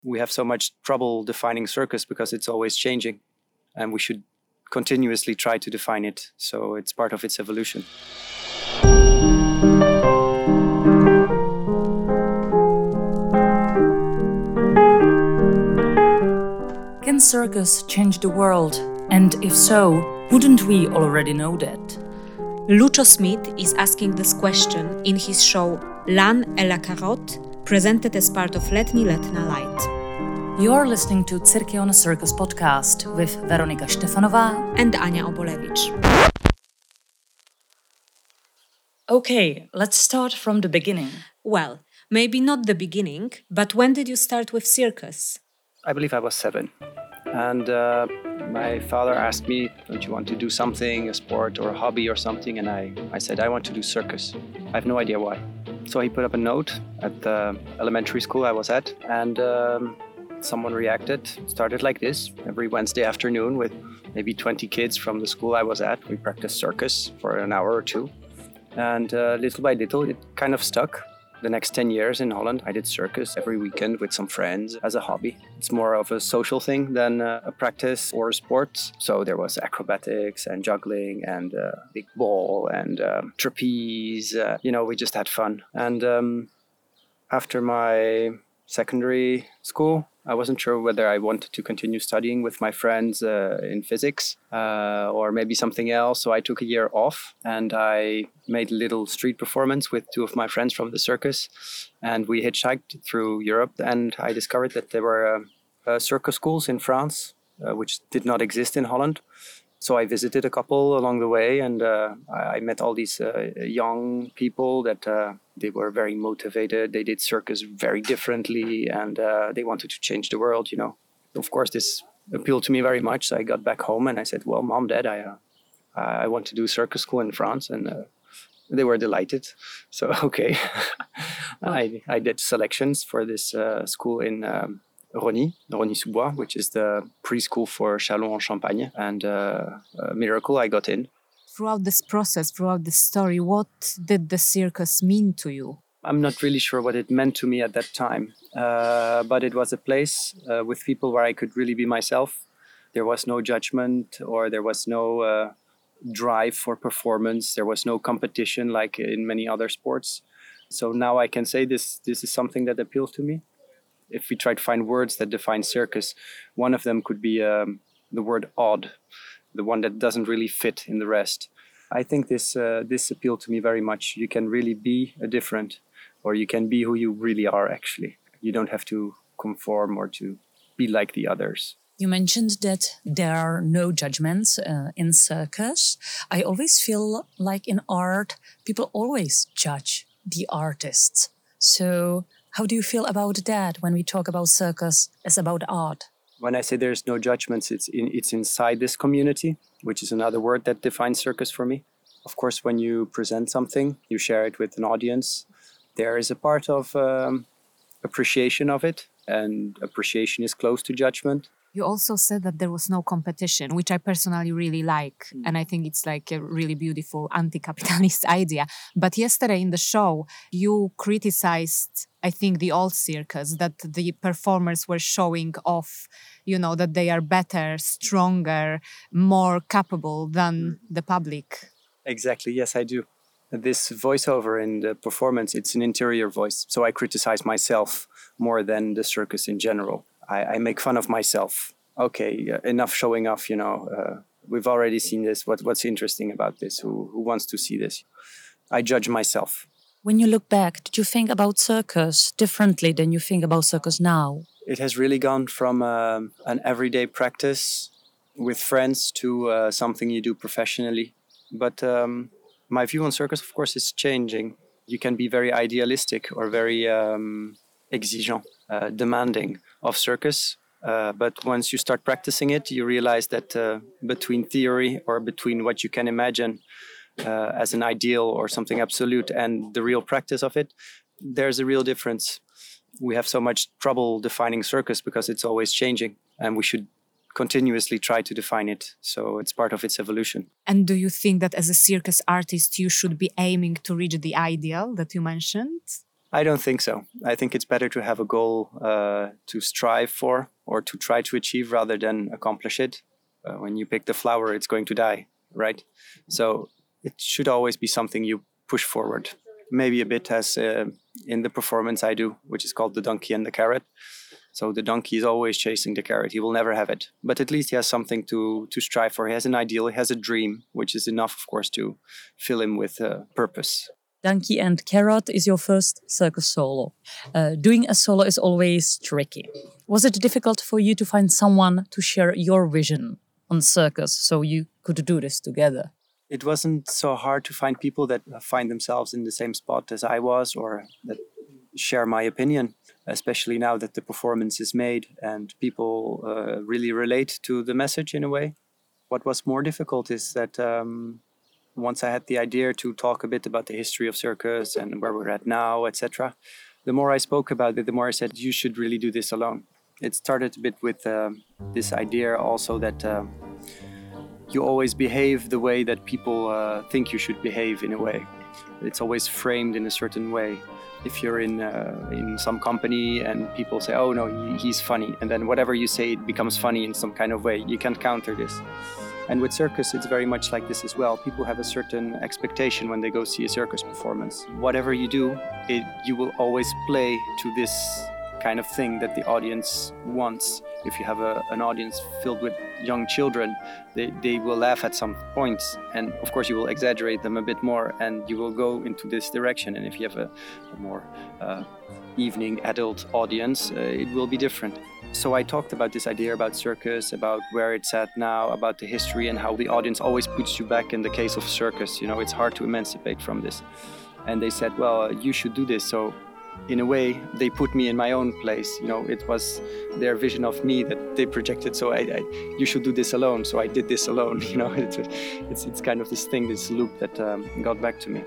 We have so much trouble defining circus because it's always changing, and we should continuously try to define it, so it's part of its evolution. Can circus change the world? And if so, wouldn't we already know that? Lucio Smith is asking this question in his show L'Âne et la Carotte, presented as part of Letní Letná Light. You're listening to Cirque on a Circus podcast with Veronika Štefanová and Ania Obolevich. Okay, let's start from the beginning. Well, maybe not the beginning, but when did you start with circus? I believe I was 7. And my father asked me, don't you want to do something, a sport or a hobby or something? And I said, I want to do circus. I have no idea why. So he put up a note at the elementary school I was at, and someone reacted. It started like this. Every Wednesday afternoon with maybe 20 kids from the school I was at, we practiced circus for an hour or two. And little by little, it kind of stuck. The next 10 years in Holland, I did circus every weekend with some friends as a hobby. It's more of a social thing than a practice or a sport. So there was acrobatics and juggling and big ball and trapeze. We just had fun. And after my secondary school, I wasn't sure whether I wanted to continue studying with my friends in physics or maybe something else. So I took a year off and I made a little street performance with 2 of my friends from the circus. And we hitchhiked through Europe, and I discovered that there were circus schools in France, which did not exist in Holland. So I visited a couple along the way, and I met all these young people that they were very motivated. They did circus very differently, and they wanted to change the world, Of course, this appealed to me very much. So I got back home and I said, well, Mom, Dad, I want to do circus school in France. And they were delighted. So, okay. I did selections for this school in Rosny-sous-Bois, which is the preschool for Châlons-en-Champagne. And miracle, I got in. Throughout this process, throughout this story, what did the circus mean to you? I'm not really sure what it meant to me at that time, but it was a place with people where I could really be myself. There was no judgment, or there was no drive for performance. There was no competition like in many other sports. So now I can say this is something that appeals to me. If we try to find words that define circus, one of them could be the word odd, the one that doesn't really fit in the rest. I think this appealed to me very much. You can really be different, or you can be who you really are, actually. You don't have to conform or to be like the others. You mentioned that there are no judgments in circus. I always feel like in art, people always judge the artists. So how do you feel about that when we talk about circus as about art? When I say there's no judgments, it's inside this community, which is another word that defines circus for me. Of course, when you present something, you share it with an audience. There is a part of appreciation of it, and appreciation is close to judgment. You also said that there was no competition, which I personally really like. And I think it's like a really beautiful anti-capitalist idea. But yesterday in the show, you criticized, I think, the old circus, that the performers were showing off, that they are better, stronger, more capable than the public. Exactly. Yes, I do. This voiceover in the performance, it's an interior voice. So I criticize myself more than the circus in general. I make fun of myself. Okay, enough showing off, we've already seen this. What's interesting about this? Who wants to see this? I judge myself. When you look back, did you think about circus differently than you think about circus now? It has really gone from an everyday practice with friends to something you do professionally. But my view on circus, of course, is changing. You can be very idealistic or very exigeant, demanding of circus. But once you start practicing it, you realize that between theory or between what you can imagine as an ideal or something absolute and the real practice of it, there's a real difference. We have so much trouble defining circus because it's always changing, and we should continuously try to define it. So it's part of its evolution. And do you think that as a circus artist, you should be aiming to reach the ideal that you mentioned? I don't think so. I think it's better to have a goal to strive for or to try to achieve rather than accomplish it. When you pick the flower, it's going to die, right? So it should always be something you push forward. Maybe a bit as in the performance I do, which is called The Donkey and the Carrot. So the donkey is always chasing the carrot. He will never have it. But at least he has something to strive for. He has an ideal, he has a dream, which is enough, of course, to fill him with purpose. Donkey and Carrot is your first circus solo. Doing a solo is always tricky. Was it difficult for you to find someone to share your vision on circus so you could do this together? It wasn't so hard to find people that find themselves in the same spot as I was or that share my opinion, especially now that the performance is made and people really relate to the message in a way. What was more difficult is that once I had the idea to talk a bit about the history of circus and where we're at now, etc., the more I spoke about it, the more I said, you should really do this alone. It started a bit with this idea also that you always behave the way that people think you should behave in a way. It's always framed in a certain way. If you're in some company and people say, oh no, he's funny, and then whatever you say, it becomes funny in some kind of way. You can't counter this. And with circus, it's very much like this as well. People have a certain expectation when they go see a circus performance. Whatever you do, you will always play to this kind of thing that the audience wants. If you have an audience filled with young children, they will laugh at some points, and of course you will exaggerate them a bit more and you will go into this direction. And if you have a more evening adult audience, it will be different. So I talked about this idea about circus, about where it's at now, about the history and how the audience always puts you back in the case of circus. You know, it's hard to emancipate from this. And they said, well, you should do this. So in a way, they put me in my own place. You know, it was their vision of me that they projected. So you should do this alone. So I did this alone. You know, it's kind of this thing, this loop that got back to me.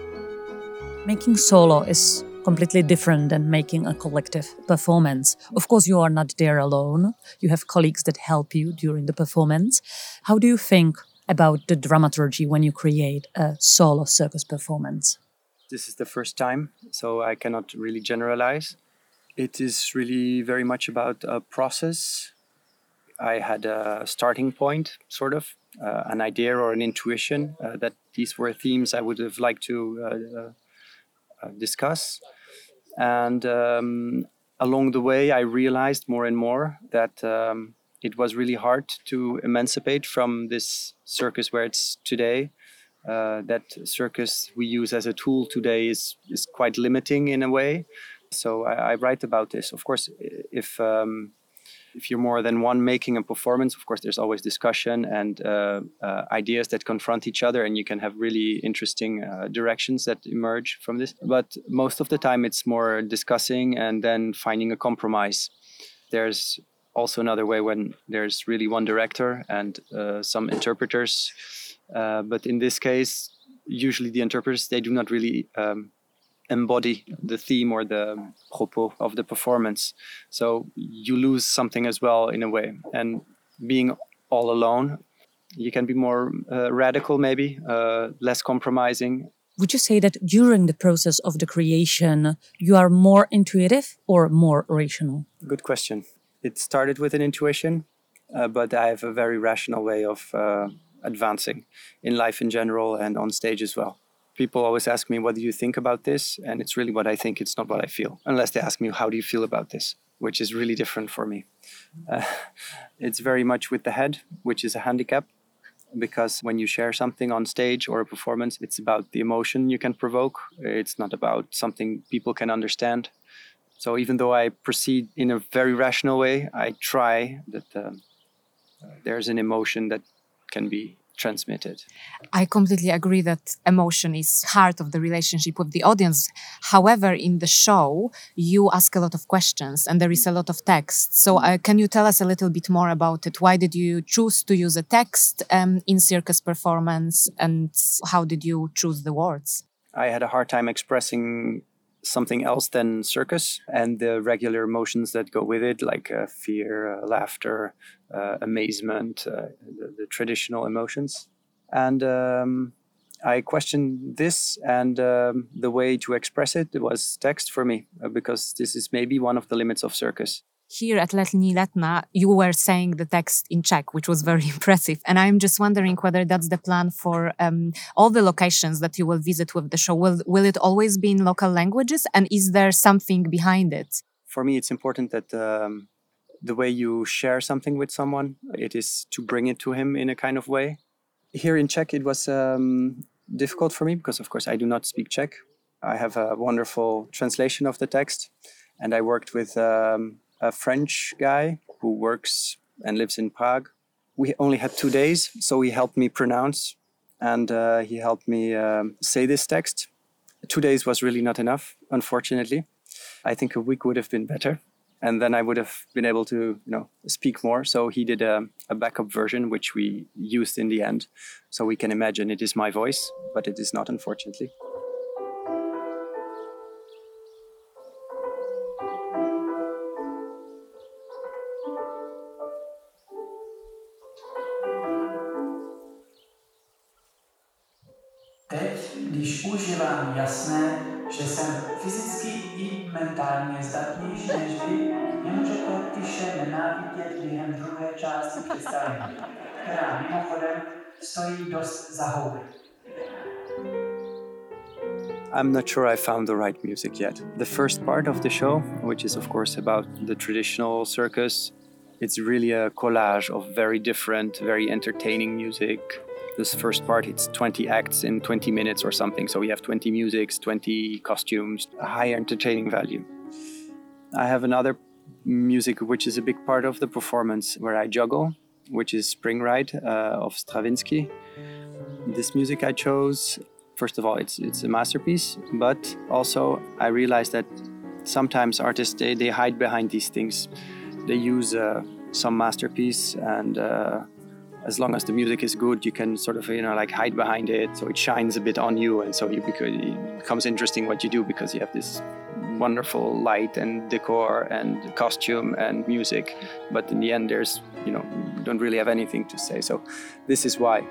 Making solo is completely different than making a collective performance. Of course, you are not there alone. You have colleagues that help you during the performance. How do you think about the dramaturgy when you create a solo circus performance? This is the first time, so I cannot really generalize. It is really very much about a process. I had a starting point, sort of, an idea or an intuition that these were themes I would have liked to discuss. And along the way, I realized more and more that it was really hard to emancipate from this circus where it's today. That circus we use as a tool today is quite limiting in a way. So I write about this. Of course, if you're more than one making a performance, of course, there's always discussion and ideas that confront each other, and you can have really interesting directions that emerge from this. But most of the time, it's more discussing and then finding a compromise. There's also another way when there's really one director and some interpreters. But in this case, usually the interpreters, they do not really embody the theme or the propos of the performance. So you lose something as well in a way. And being all alone, you can be more radical maybe, less compromising. Would you say that during the process of the creation, you are more intuitive or more rational? Good question. It started with an intuition, but I have a very rational way of advancing in life in general and on stage as well. People always ask me, what do you think about this? And it's really what I think, it's not what I feel. Unless they ask me, how do you feel about this? Which is really different for me. It's very much with the head, which is a handicap. Because when you share something on stage or a performance, it's about the emotion you can provoke. It's not about something people can understand. So even though I proceed in a very rational way, I try that there's an emotion that can be transmitted. I completely agree that emotion is heart of the relationship with the audience. However, in the show, you ask a lot of questions and there is a lot of text. So can you tell us a little bit more about it? Why did you choose to use a text in circus performance, and how did you choose the words? I had a hard time expressing something else than circus and the regular emotions that go with it, like fear, laughter, amazement, the traditional emotions. And I questioned this, and the way to express it was text for me, because this is maybe one of the limits of circus. Here at Letní Letna, you were saying the text in Czech, which was very impressive. And I'm just wondering whether that's the plan for all the locations that you will visit with the show. Will it always be in local languages? And is there something behind it? For me, it's important that the way you share something with someone, it is to bring it to him in a kind of way. Here in Czech, it was difficult for me because, of course, I do not speak Czech. I have a wonderful translation of the text, and I worked with a French guy who works and lives in Prague. We only had 2 days, so he helped me pronounce, and he helped me say this text. 2 days was really not enough, unfortunately. I think a week would have been better, and then I would have been able to, speak more. So he did a backup version, which we used in the end. So we can imagine it is my voice, but it is not, unfortunately. Teď, když už je vám jasné, že jsem fyzicky i mentálně zdatnější než vy, nemůžete tiše nenávidět během druhé části představení, která mimochodem stojí dost za houby. I'm not sure I found the right music yet. The first part of the show, which is of course about the traditional circus, it's really a collage of very different, very entertaining music. This first part, it's 20 acts in 20 minutes or something. So we have 20 musics, 20 costumes, a high entertaining value. I have another music which is a big part of the performance where I juggle, which is Spring Ride of Stravinsky. This music I chose, first of all, it's a masterpiece, but also I realized that sometimes artists, they hide behind these things. They use some masterpiece, and as long as the music is good, you can sort of, hide behind it. So it shines a bit on you. And so it becomes interesting what you do because you have this wonderful light and decor and costume and music. But in the end, there's, you don't really have anything to say. So this is why.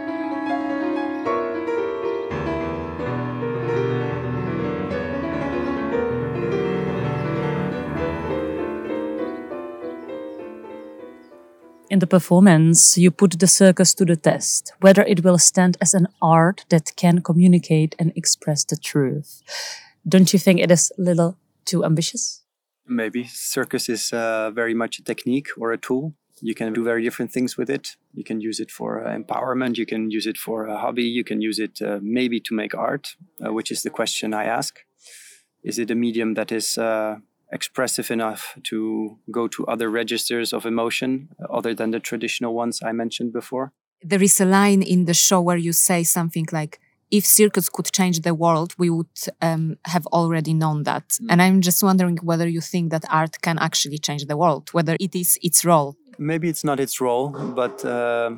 In the performance, you put the circus to the test, whether it will stand as an art that can communicate and express the truth. Don't you think it is a little too ambitious? Maybe. Circus is very much a technique or a tool. You can do very different things with it. You can use it for empowerment. You can use it for a hobby. You can use it maybe to make art, which is the question I ask. Is it a medium that is expressive enough to go to other registers of emotion other than the traditional ones I mentioned before? There is a line in the show where you say something like, if circus could change the world, we would have already known that. Mm. And I'm just wondering whether you think that art can actually change the world, whether it is its role. Maybe it's not its role, but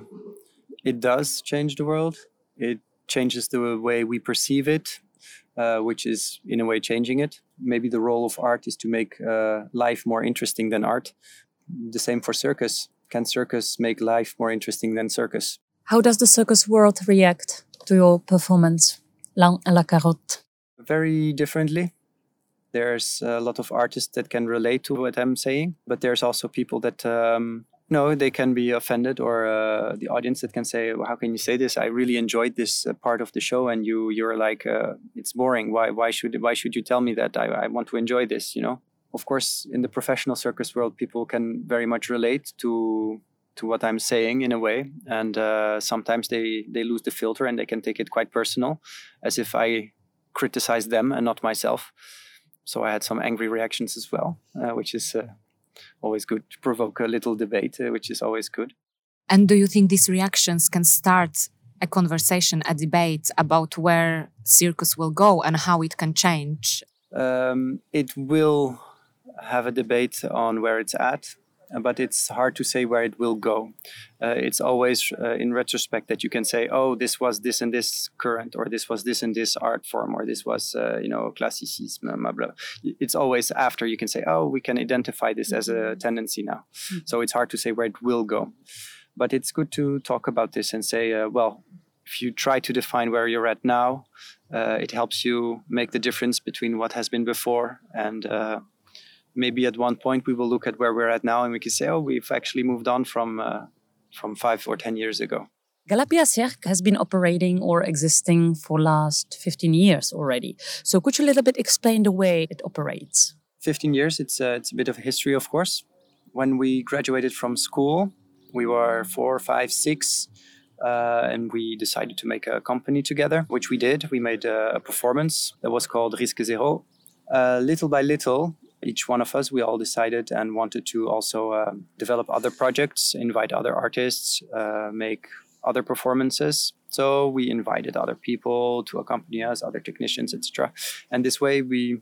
it does change the world. It changes the way we perceive it, which is in a way changing it. Maybe the role of art is to make life more interesting than art. The same for circus. Can circus make life more interesting than circus? How does the circus world react to your performance, L'Âne et la Carotte? Very differently. There's a lot of artists that can relate to what I'm saying, but there's also people that they can be offended, or the audience that can say, well, how can you say this? I really enjoyed this part of the show, and you're like, it's boring. Why should you tell me that? I want to enjoy this, Of course, in the professional circus world, people can very much relate to what I'm saying in a way, and sometimes they lose the filter and they can take it quite personal, as if I criticize them and not myself. So I had some angry reactions as well, which is always good to provoke a little debate, which is always good. And do you think these reactions can start a conversation, a debate about where circus will go and how it can change? It will have a debate on where it's at, but it's hard to say where it will go. It's always in retrospect that you can say, oh, this was this and this current, or this was this and this art form, or this was, classicism, blah, blah. It's always after you can say, oh, we can identify this as a tendency now. Mm-hmm. So it's hard to say where it will go. But it's good to talk about this and say, if you try to define where you're at now, it helps you make the difference between what has been before. And maybe at one point we will look at where we're at now and we can say, oh, we've actually moved on from 5 or 10 years ago. Galapia Cirque has been operating or existing for last 15 years already. So could you a little bit explain the way it operates? 15 years, it's a bit of a history, of course. When we graduated from school, we were 4, 5, 6, and we decided to make a company together, which we did. We made a performance that was called Risque Zero. Little by little, each one of us, we all decided and wanted to also develop other projects, invite other artists, make other performances. So we invited other people to accompany us, other technicians, etc. And this way we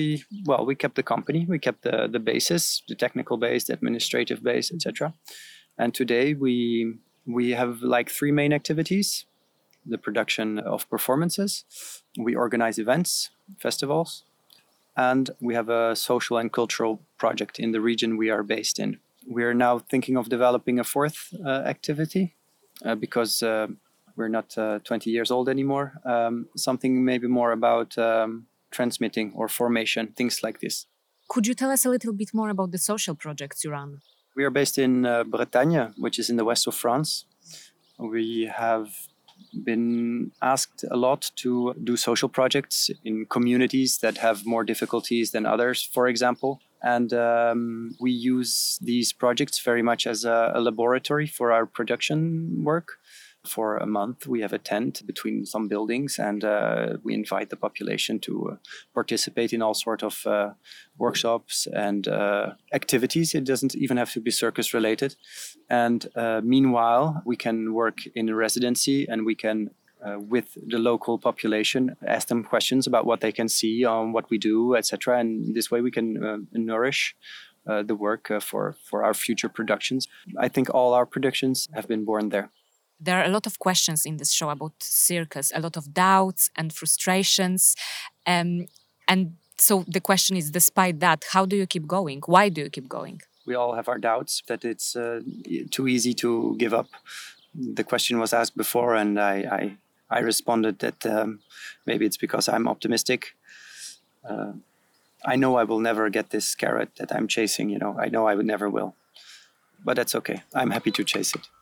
kept the company, we kept the basis, the technical base, the administrative base, etc. And today we have like 3 main activities: the production of performances, we organize events, festivals, and we have a social and cultural project in the region we are based in. We are now thinking of developing a 4th activity because we're not 20 years old anymore. Something maybe more about transmitting or formation, things like this. Could you tell us a little bit more about the social projects you run? We are based in Bretagne, which is in the west of France. We have been asked a lot to do social projects in communities that have more difficulties than others, for example. And we use these projects very much as a laboratory for our production work. For a month, we have a tent between some buildings, and we invite the population to participate in all sorts of workshops and activities. It doesn't even have to be circus related. And meanwhile, we can work in a residency, and we can, with the local population, ask them questions about what they can see on what we do, etc. And this way we can nourish the work for our future productions. I think all our productions have been born there. There are a lot of questions in this show about circus, a lot of doubts and frustrations. And so the question is, despite that, how do you keep going? Why do you keep going? We all have our doubts that it's too easy to give up. The question was asked before, and I responded that maybe it's because I'm optimistic. I know I will never get this carrot that I'm chasing, I know I would never will. But that's okay. I'm happy to chase it.